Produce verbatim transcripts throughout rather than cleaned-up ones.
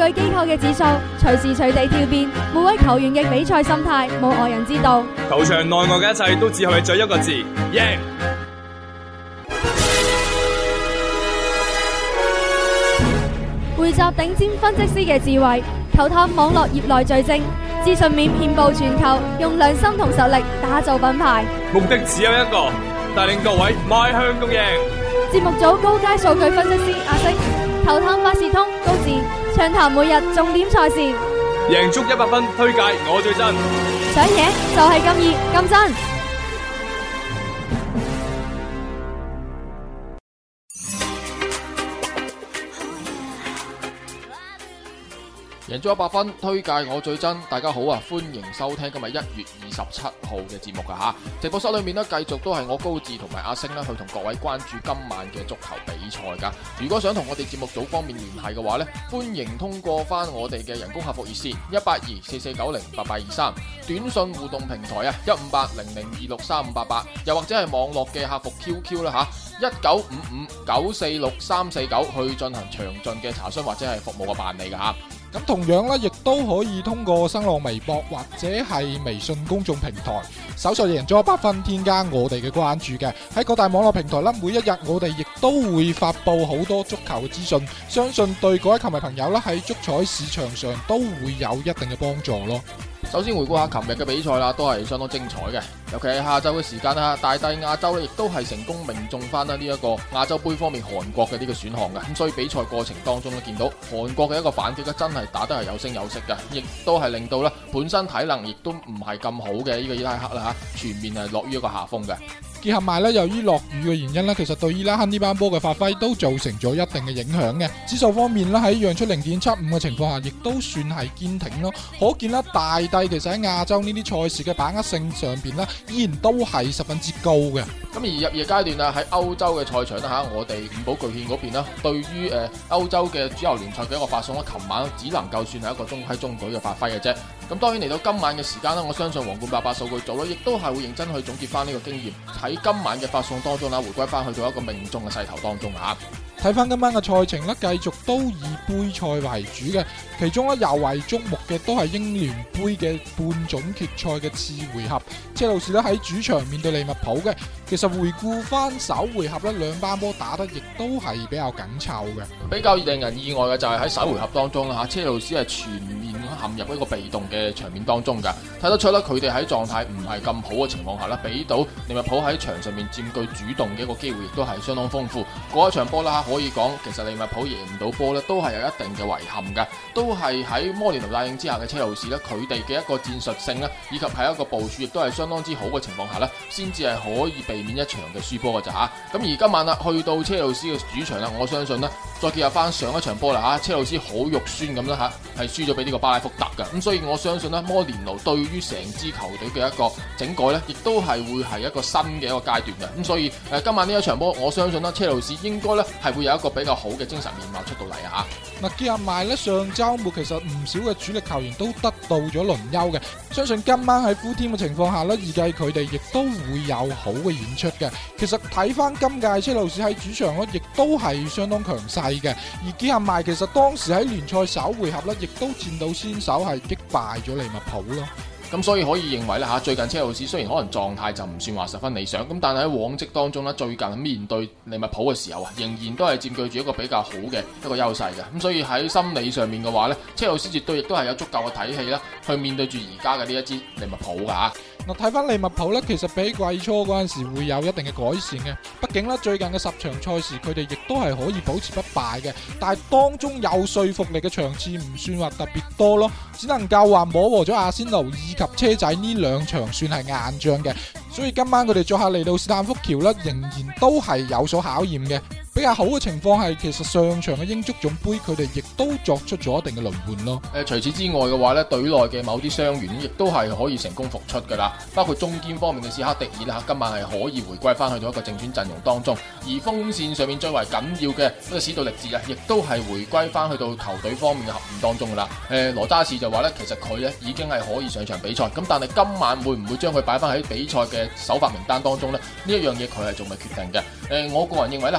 據機構嘅指數，隨時隨地跳變，每位球員嘅比賽心態冇外人知道。 球場內外嘅一切都只係在一個字：贏。 匯集頂尖分析師嘅智慧，球探網絡業內最精，資訊面遍佈全球，用良心同實力打造品牌。 目的只有一個，帶領各位邁向共贏。 節目組高階數據分析師阿星，球探百事通高智，暢談每日重點賽事， 贏足一百分，推介我最真， 想贏就係咁易咁真。 贏足一百分，推介我最真。大家好啊，歡迎收聽今日一月二十七號嘅節目噶吓。直播室裏面呢，繼續都係我高志同埋阿星呢去同各位關注今晚嘅足球比賽噶。如果想同我哋節目組方面聯繫嘅話呢，歡迎通過翻我哋嘅人工客服熱線一八二四四九零八八二三，短信互動平台啊一五八零零二六三五八八，又或者係網絡嘅客服 Q Q 啦吓，一九五五九四六三四九去進行詳盡嘅查詢或者係服務嘅辦理噶吓。 咁同樣咧，亦都可以通過新浪微博或者係微信公眾平台搜索贏足一百分，添加我哋嘅關注嘅。喺各大網絡平台啦，每一日我哋亦都會發布好多足球嘅資訊，相信對各位球迷朋友啦喺足彩市場上都會有一定嘅幫助咯。 首先回顧下琴日嘅比賽啦，都係相當精彩嘅，尤其係下晝嘅時間啦，大帝亞洲咧亦都係成功命中翻啦呢一個亞洲盃方面韓國嘅呢個選項嘅，咁所以比賽過程當中咧見到韓國嘅一個反擊咧真係打得係有聲有色嘅，亦都係令到咧本身體能亦都唔係咁好嘅呢個伊拉克啦吓，全面係落於一個下風嘅。 結合埋咧，由於落雨嘅原因咧，其實對伊拉克呢班波嘅發揮都造成咗一定嘅影響嘅。指數方面咧，喺讓出零點七五嘅情況下，亦都算係堅挺咯。可見啦，大帝其實喺亞洲呢啲賽事嘅把握性上邊咧，依然都係十分之高嘅。 咁而入夜階段啊，喺歐洲嘅賽場啦吓，我哋五寶巨獻嗰邊啦，對於誒歐洲嘅主流聯賽嘅一個發送咧，琴晚只能夠算係一個中規中矩嘅發揮嘅啫。咁當然嚟到今晚嘅時間啦，我相信皇冠八八數據組咧，亦都係會認真去總結翻呢個經驗，喺今晚嘅發送當中啦，回歸翻去到一個命中嘅勢頭當中啊。 睇翻今晚嘅賽程咧，繼續都以杯賽為主嘅，其中咧尤為矚目嘅都係英聯杯嘅半準決賽嘅次回合，車路士咧喺主場面對利物浦嘅。其實回顧翻首回合咧，兩班波打得亦都係比較緊湊嘅。比較令人意外嘅就係喺首回合當中啦吓，車路士係全面陷入一個被動嘅場面當中噶，睇得出啦，佢哋喺狀態唔係咁好嘅情況下啦，俾到利物浦喺場上面佔據主動嘅一個機會，亦都係相當豐富。嗰一場波啦，可以講其實利物浦贏唔到波咧，都係有一定嘅遺憾嘅，都係喺摩連奴帶領之下嘅車路士咧，佢哋嘅一個戰術性咧，以及係一個部署，亦都係相當之好嘅情況下咧，先至係可以避免一場嘅輸波嘅咋吓。咁而今晚啦，去到車路士嘅主場啦，我相信咧，再結合翻上一場波啦吓，車路士好肉酸咁啦吓，係輸咗俾呢個巴拉福特嘅，咁所以我相信咧，摩連奴對於成支球隊嘅一個整改咧，亦都係會係一個新嘅一個階段嘅，咁所以誒今晚呢一場波，我相信咧，車路士應該咧係會有一個比較好嘅精神面貌出到嚟啊吓。嗱，結合埋咧，上周末其實唔少嘅主力球員都得到咗輪休嘅，相信今晚喺full team嘅情況下咧，預計佢哋亦都會有好嘅演出嘅。其實睇翻今屆車路士喺主場咧，亦都係相當強勢嘅，而結合埋其實當時喺聯賽首回合咧，亦都佔到先手係擊敗咗利物浦咯。咁所以可以認為咧吓，最近車路士雖然可能狀態就唔算話十分理想，咁但係喺往績當中咧，最近面對利物浦嘅時候啊，仍然都係佔據住一個比較好嘅一個優勢嘅。咁所以喺心理上面嘅話咧，車路士絕對亦都係有足夠嘅體氣啦，去面對住而家嘅呢一支利物浦噶吓。 嗱，睇翻利物浦咧，其實比季初嗰陣時會有一定嘅改善嘅。畢竟咧，最近嘅十場賽事，佢哋亦都係可以保持不敗嘅。但係當中有說服力嘅場次唔算話特別多咯，只能夠話摸和咗阿仙奴以及車仔呢兩場算係硬仗嘅。所以今晚佢哋作客嚟到斯坦福橋咧，仍然都係有所考驗嘅。比較好嘅情況係，其實上場嘅英足總杯佢哋亦都作出咗一定嘅輪換咯。 誒、呃，除此之外嘅話咧，隊內嘅某啲傷員亦都係可以成功復出噶啦，包括中堅方面嘅史克迪爾啦，今晚係可以回歸翻去到一個正選陣容當中。而鋒線上面最為緊要嘅一個史杜力治啊，亦都係回歸翻去到球隊方面嘅合練當中噶啦。誒、呃，羅渣士就話咧，其實佢咧已經係可以上場比賽，咁但係今晚會唔會將佢擺翻喺比賽嘅首發名單當中呢？呢一樣嘢佢係仲未決定嘅。誒、呃，我個人認為咧吓，今晚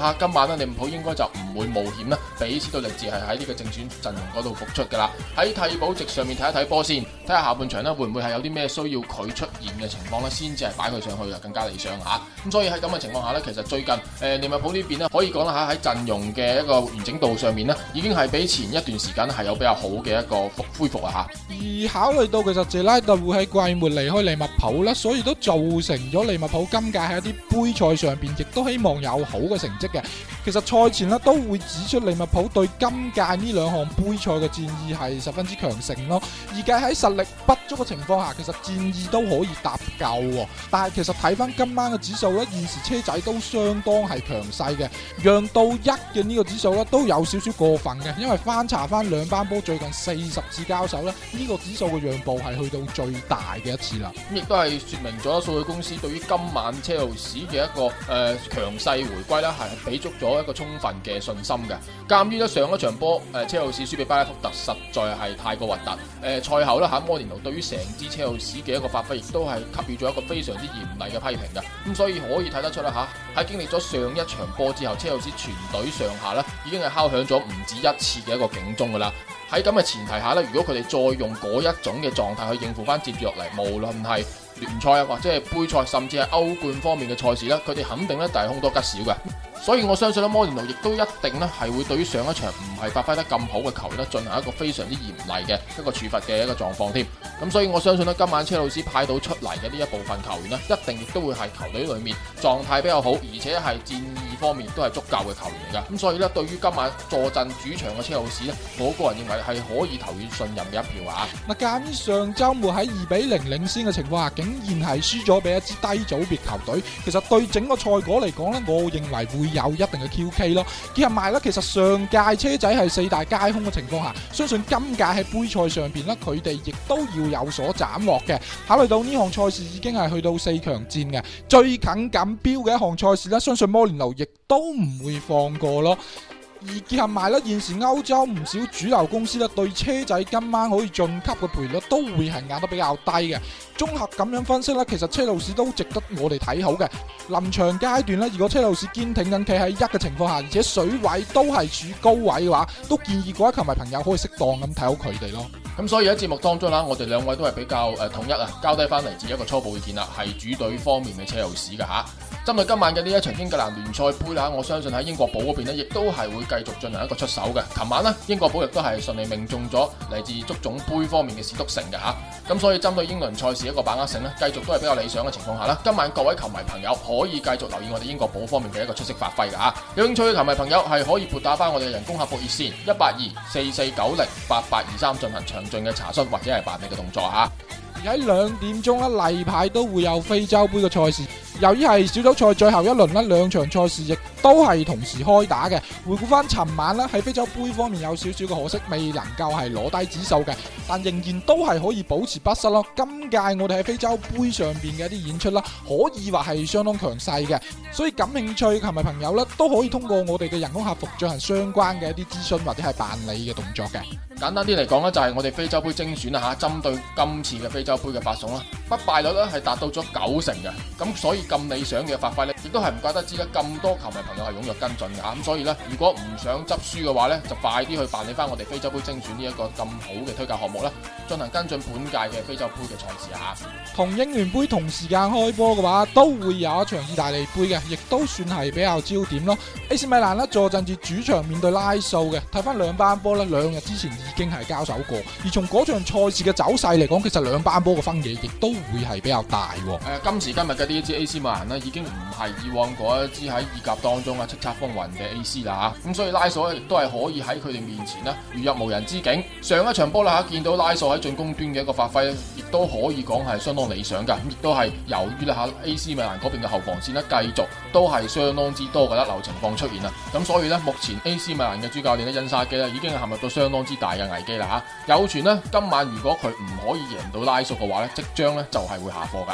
間呢，利物浦應該就唔會冒險啦，俾斯圖力治係喺呢個正選陣容嗰度復出噶啦。喺替補席上面睇一睇波先，睇下下半場呢會唔會係有啲咩需要佢出現嘅情況呢，先至係擺佢上去啊，更加理想吓。咁所以喺咁嘅情況下呢，其實最近誒、呃、利物浦呢邊呢，可以講啦吓，喺陣容嘅一個完整度上面呢，已經係比前一段時間係有比較好嘅一個復恢復啊吓。 而考慮到其實謝拉特會喺季末離開利物浦啦，所以都造成咗利物浦今屆喺一啲杯賽上邊亦都希望有好嘅成績嘅。其實賽前咧都會指出利物浦對今屆呢兩項杯賽嘅戰意係十分之強盛咯。而計喺實力不足嘅情況下，其實戰意都可以搭夠。但係其實睇翻今晚嘅指數咧，現時車仔都相當係強勢嘅，讓到一嘅呢個指數咧都有少少過分嘅。因為翻查翻兩班波最近四十次交手咧，呢、這個指數嘅讓步係去到最大嘅一次啦。 咁亦都係說明咗數據公司對於今晚車路士嘅一個誒強勢回歸啦，係俾足咗一個充分嘅信心嘅。鑒於咧上一場波誒車路士輸俾巴拉福特實在係太過核突。誒、呃、賽後咧嚇摩連奴對於成支車路士嘅一個發揮，亦都係給予咗一個非常之嚴厲嘅批評嘅。咁所以可以睇得出啦嚇，喺經歷咗上一場波之後，車路士全隊上下咧已經係敲響咗唔止一次嘅一個警鐘噶啦。喺咁嘅前提下咧，如果佢哋再用嗰一種嘅狀態去應付翻接住落嚟，無論係聯賽啊或者係杯賽，甚至係歐冠方面嘅賽事咧，佢哋肯定咧就係凶多吉少嘅。所以我相信咧，摩連奴亦都一定咧係會對於上一場唔係發揮得咁好嘅球員咧進行一個非常之嚴厲嘅一個處罰嘅一個狀況添。咁所以我相信咧，今晚車路士派到出嚟嘅呢一部分球員咧，一定亦都會係球隊裏面狀態比較好，而且係戰意方面都係足夠嘅球員嚟噶。咁所以咧，對於今晚坐鎮主場嘅車路士咧，我個人認為係可以投以信任嘅一票啊！ 嗱，鑑於上週末喺二比零領先嘅情況下，竟然係輸咗俾一支低組別球隊，其實對整個賽果嚟講咧，我認為會有一定嘅 Q K 咯。結合埋咧，其實上屆車仔係四大皆空嘅情況下，相信今屆喺杯賽上邊咧，佢哋亦都要有所斬獲嘅。考慮到呢項賽事已經係去到四強戰嘅，最近錦標嘅一項賽事咧，相信摩連奴亦都唔會放過咯。而結合埋咧，現時歐洲唔少主流公司咧對車仔今晚可以晉級嘅賠率都會係壓得比較低嘅。綜合咁樣分析咧，其實車路士都值得我哋睇好嘅。臨場階段咧，如果車路士堅挺緊企喺一嘅情況下，而且水位都係處高位嘅話，都建議各位球迷朋友可以適當咁睇好佢哋咯。 咁所以喺節目當中啦，我哋兩位都係比較誒統一啊，交低翻嚟自一個初步意見啦，係主隊方面嘅車路士嘅吓。針對今晚嘅呢一場英格蘭聯賽杯啦，我相信喺英國寶嗰邊呢，亦都係會繼續進行一個出手嘅。琴晚呢，英國寶亦都係順利命中咗嚟自足總杯方面嘅史篤城嘅吓。咁所以針對英倫賽事一個把握性呢，繼續都係比較理想嘅情況下啦。今晚各位球迷朋友可以繼續留意我哋英國寶方面嘅一個出色發揮嘅吓。有興趣嘅球迷朋友係可以撥打翻我哋嘅人工客服熱線一八二四四九零八八二三進行詳盡嘅查詢或者係辦理嘅動作吓。 而喺兩點鐘啦，例牌都會有非洲杯嘅賽事。由於係小組賽最後一輪啦，兩場賽事亦都係同時開打嘅。回顧翻尋晚啦，喺非洲杯方面有少少嘅可惜，未能夠係攞低指數嘅，但仍然都係可以保持不失咯。今屆我哋喺非洲杯上邊嘅一啲演出啦，可以話係相當強勢嘅。所以感興趣球迷朋友咧，都可以通過我哋嘅人工客服進行相關嘅一啲諮詢或者係辦理嘅動作嘅。 簡單啲嚟講咧，就係我哋非洲杯精選啦吓，針對今次嘅非洲杯嘅發送啦，不敗率咧係達到咗九成嘅，咁所以咁理想嘅發揮咧，亦都係唔怪得知咧咁多球迷朋友係踴躍跟進嘅吓，咁所以咧，如果唔想執輸嘅話咧，就快啲去辦理翻我哋非洲杯精選呢一個咁好嘅推介項目啦，進行跟進本屆嘅非洲杯嘅賽事吓。 同英聯杯同時間開波嘅話，都會有一場意大利杯嘅，亦都算係比較焦點咯。A C 米蘭咧坐鎮住主場面對拉素嘅，睇翻兩班波咧，兩日之前已經係交手過，而從嗰場賽事嘅走勢嚟講，其實兩班波嘅分野亦都會係比較大。誒、 呃，今時今日嘅呢一支 A C 米蘭呢，已經唔係以往嗰一支喺意甲當中啊叱咤風雲嘅 A C 啦吓，咁所以拉素亦都係可以喺佢哋面前呢如入無人之境。上一場波啦吓，見到拉素喺進攻端嘅一個發揮，亦都可以講係相當理想噶，咁亦都係由於啦吓 A C 米蘭嗰邊嘅後防線呢，繼續都係相當之多嘅甩漏情況出現啦，咁所以呢，目前 A C 米蘭嘅主教練呢，恩沙基呢，已經係陷入到相當之大嘅危機啦吓，有傳呢，今晚如果佢唔可以贏到拉素嘅話呢，即將呢就係會下課噶。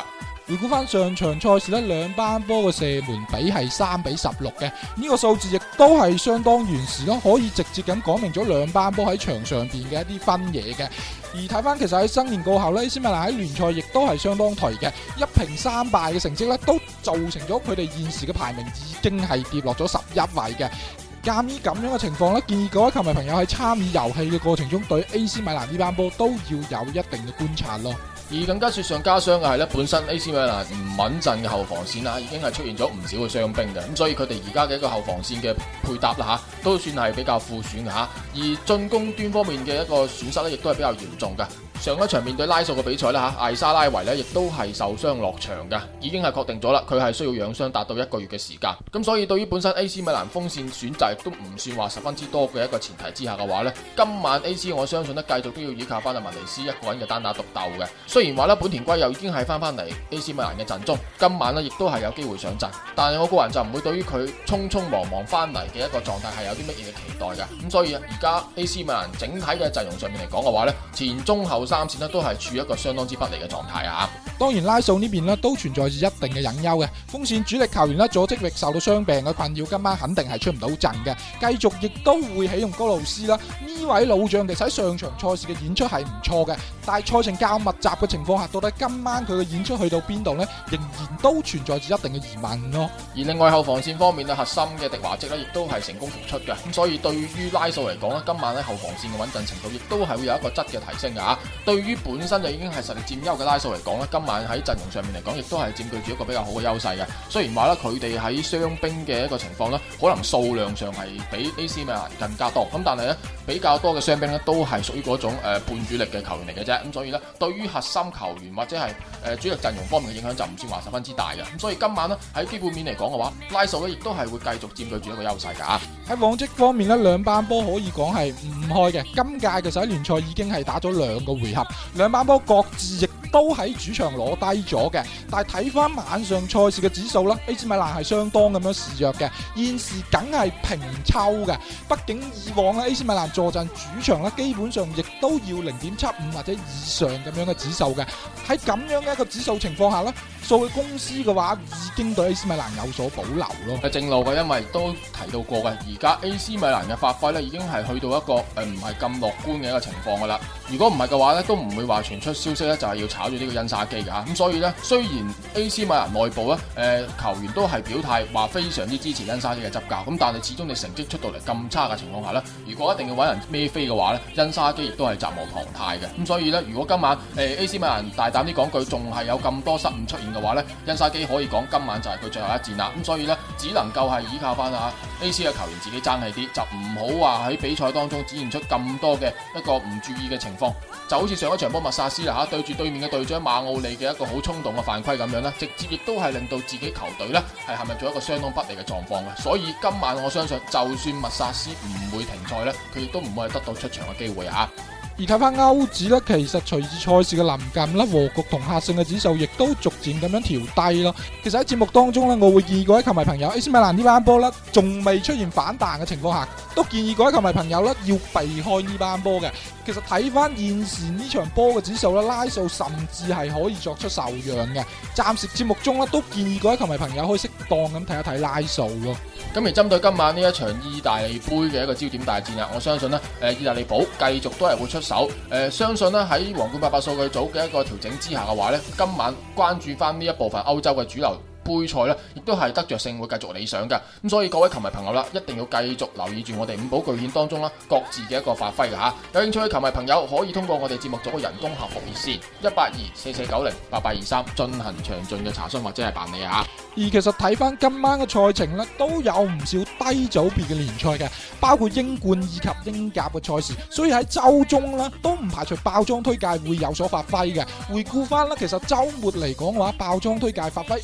回顧翻上場賽事呢，兩班波嘅射門比係三比十六嘅，呢個數字亦都係相當完善咯，可以直接咁講明咗兩班波喺場上邊嘅一啲分野嘅。而睇翻其實喺新年過後呢，A C米蘭喺聯賽亦都係相當頹嘅，一平三敗嘅成績呢，都造成咗佢哋現時嘅排名已經係跌落咗十一位嘅。鑑於咁樣嘅情況呢，建議各位球迷朋友喺參與遊戲嘅過程中，對 A C 米蘭呢班波都要有一定嘅觀察咯。 而更加雪上加霜嘅係咧，本身 A C 米蘭唔穩陣嘅後防線啦，已經係出現咗唔少嘅傷兵嘅，咁所以佢哋而家嘅一個後防線嘅配搭啦嚇，都算係比較負損嘅嚇。而進攻端方面嘅一個損失咧，亦都係比較嚴重嘅。上一場面對拉素嘅比賽啦嚇，艾沙拉維咧亦都係受傷落場嘅，已經係確定咗啦，佢係需要養傷達到一個月嘅時間。咁所以對於本身 A C 米蘭鋒線選擇都唔算話十分之多嘅一個前提之下嘅話呢，今晚 A C 我相信咧繼續都要依靠翻阿文尼斯一個人嘅單打獨鬥嘅。雖然話咧本田圭又已經係翻翻嚟 A C 米蘭嘅陣中，今晚咧亦都係有機會上陣，但係我個人就唔會對於佢匆匆忙忙翻嚟嘅一個狀態係有啲乜嘢嘅期待嘅。咁所以而家 A C 米蘭整體嘅陣容上面嚟講嘅話呢，前中後三線咧都係處於一個相當之不利嘅狀態啊！ 當然拉素呢邊咧都存在住一定嘅隱憂嘅，鋒線主力球員咧佐積域受到傷病嘅困擾，今晚肯定係出唔到陣嘅。繼續亦都會起用高路斯啦，呢位老將其實喺上場賽事嘅演出係唔錯嘅，但係賽程較密集嘅情況下，到底今晚佢嘅演出去到邊度呢？仍然都存在住一定嘅疑問咯。 而另外後防線方面咧，核心嘅迪華積咧亦都係成功復出嘅，咁所以對於拉素嚟講咧，今晚喺後防線嘅穩陣程度亦都係會有一個質嘅提升嘅嚇。對於本身就已經係實力佔優嘅拉素嚟講咧，今晚喺陣容上面嚟講，亦都係佔據住一個比較好嘅優勢嘅。雖然話咧佢哋喺傷兵嘅一個情況咧，可能數量上係比 A C 米蘭更加多，咁但係咧比較多嘅傷兵咧都係屬於嗰種誒、呃、半主力嘅球員嚟嘅啫。咁所以咧，對於核心球員或者係誒、呃、主力陣容方面嘅影響就唔算話十分之大嘅。咁所以今晚咧喺基本面嚟講嘅話，拉素咧亦都係會繼續佔據住一個優勢㗎。 喺往績方面咧，兩班波可以講係唔開嘅。今屆其實喺聯賽已經係打咗兩個回合，兩班波各自亦都喺主場攞低咗嘅。但係睇翻晚上賽事嘅指數啦 ，A C 米蘭係相當咁樣示弱嘅，現時梗係平抽嘅。畢竟以往咧 A C 米蘭坐鎮主場咧，基本上亦都要零點七五或者以上咁樣嘅指數嘅。喺咁樣嘅一個指數情況下咧，數據公司嘅話已經對 A C 米蘭有所保留咯。 係正路嘅，因為都提到過嘅，而家 A C 米蘭嘅發揮咧已經係去到一個誒唔係咁樂觀嘅一個情況噶啦。如果唔係嘅話咧，都唔會話傳出消息咧，就係要炒咗呢個恩沙基嘅嚇。咁所以咧，雖然 A C 米蘭內部咧誒、呃、球員都係表態話非常之支持恩沙基嘅執教，咁但係始終你成績出到嚟咁差嘅情況下咧，如果一定要揾人孭飛嘅話咧，恩沙基亦都係責無旁貸嘅。咁所以咧，如果今晚誒、呃、A C 米蘭大膽啲講句，仲係有咁多失誤出現嘅話咧，恩沙基可以講今晚就係佢最後一戰啦。咁所以咧，只能夠係依靠翻啊 A C 嘅球員自己爭氣啲，就唔好話喺比賽當中展現出咁多嘅一個唔注意嘅情況。就好似上一場波麥薩斯啦嚇，對住對面嘅隊長馬奧利嘅一個好衝動嘅犯規咁樣咧，直接亦都係令到自己球隊咧係陷入咗一個相當不利嘅狀況嘅。所以今晚我相信，就算麥薩斯唔會停賽咧，佢亦都唔會係得到出場嘅機會啊！ 而睇翻歐指咧，其實隨住賽事嘅臨近啦，和局同客勝嘅指數亦都逐漸咁樣調低咯。其實喺節目當中咧，我會建議各位球迷朋友 A C 米蘭呢班波咧，仲未出現反彈嘅情況下，都建議各位球迷朋友咧要避開呢班波嘅。其實睇翻現時呢場波嘅指數咧，拉素甚至係可以作出受讓嘅。暫時節目中咧都建議各位球迷朋友可以適當咁睇一睇拉素咯。 咁而針對今晚呢一場意大利杯嘅一個焦點大戰啊，我相信呢，誒意大利寶繼續都係會出手。誒、呃、相信呢，喺皇冠八八數據組嘅一個調整之下嘅話呢，今晚關注翻呢一部分歐洲嘅主流杯賽咧，亦都係得着性會繼續理想嘅。咁所以各位球迷朋友啦，一定要繼續留意住我哋五寶巨獻當中啦，各自嘅一個發揮嘅吓。有興趣嘅球迷朋友可以通過我哋節目組嘅人工客服熱線一八二四四九零八八二三進行詳盡嘅查詢或者係辦理啊。 而其實睇翻今晚嘅賽程咧，都有唔少低組別嘅聯賽嘅，包括英冠以及英甲嘅賽事，所以喺周中咧都唔排除爆裝推介會有所發揮嘅。回顧翻啦，其實周末嚟講嘅話，爆裝推介發揮唔算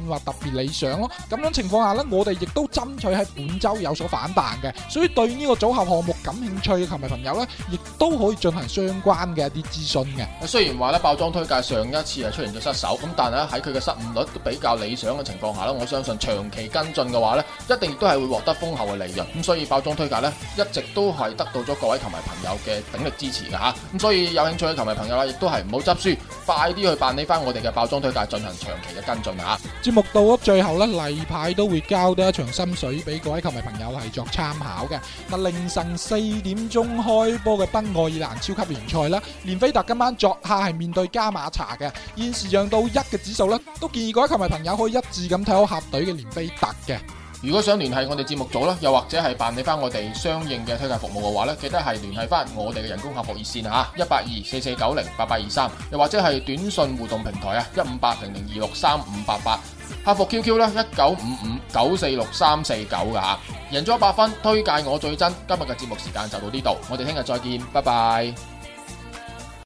算話特別理想咯。咁樣情況下呢，我哋亦都爭取喺本周有所反彈嘅，所以對呢個組合項目感興趣嘅球迷朋友呢，亦都可以進行相關嘅一啲諮詢嘅。 雖然話咧爆莊推介上一次係出現咗失手，咁但係喺佢嘅失誤率都比較理想嘅情況下咧，我相信長期跟進嘅話咧，一定亦都係會獲得豐厚嘅利潤。咁所以爆莊推介咧，一直都係得到咗各位球迷朋友嘅鼎力支持嘅吓。咁所以有興趣嘅球迷朋友啦，亦都係唔好執輸，快啲去辦理翻我哋嘅爆莊推介進行長期嘅跟進吓。 節目到咗最後咧，例牌都會交多一場心水俾各位球迷朋友係作參考嘅。嗱，凌晨四點鐘開波嘅北愛爾蘭超級聯賽啦，連菲特今晚作客係面對加馬查嘅，現時讓到一嘅指數啦，都建議各位球迷朋友可以一致咁睇好客隊嘅連菲特嘅。 如果想聯繫我哋節目組啦，又或者係辦理翻我哋相應嘅推介服務嘅話咧，記得係聯繫翻我哋嘅人工客服熱線吓，一八二四四九零八八二三，又或者係短信互動平台啊，一五八零零二六三五八八，客服 Q Q 啦，一九五五九四六三四九噶吓，贏咗一百分，推介我最真。今日嘅節目時間就到呢度，我哋聽日再見，拜拜。